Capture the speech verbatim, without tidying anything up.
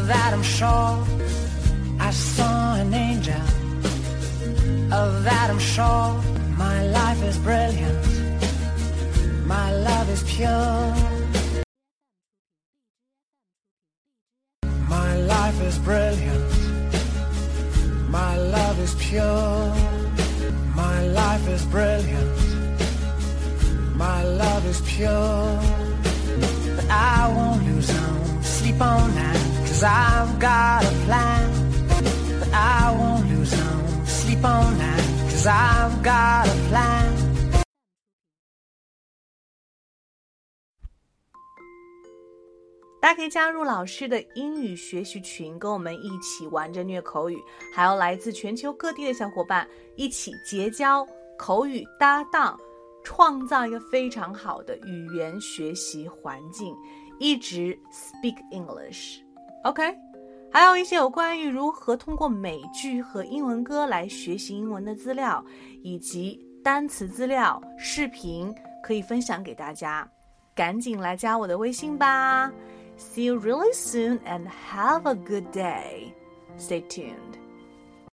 that I'm sure I saw an angel. Of that I'm sure my life is brilliant. My love is pure. My life is brilliant. My love is pure. My life is brilliant. My love is pure. But I won't lose no sleep on that, 'cause I've got a plan. But I won't lose no sleep on that, 'cause I've got a plan. 大家可以加入老师的英语学习群，跟我们一起玩着虐口语，还有来自全球各地的小伙伴一起结交口语搭档，创造一个非常好的语言学习环境，一直 speak English。 OK， 还有一些有关于如何通过美剧和英文歌来学习英文的资料，以及单词资料、视频可以分享给大家，赶紧来加我的微信吧。See you really soon and have a good day. Stay tuned.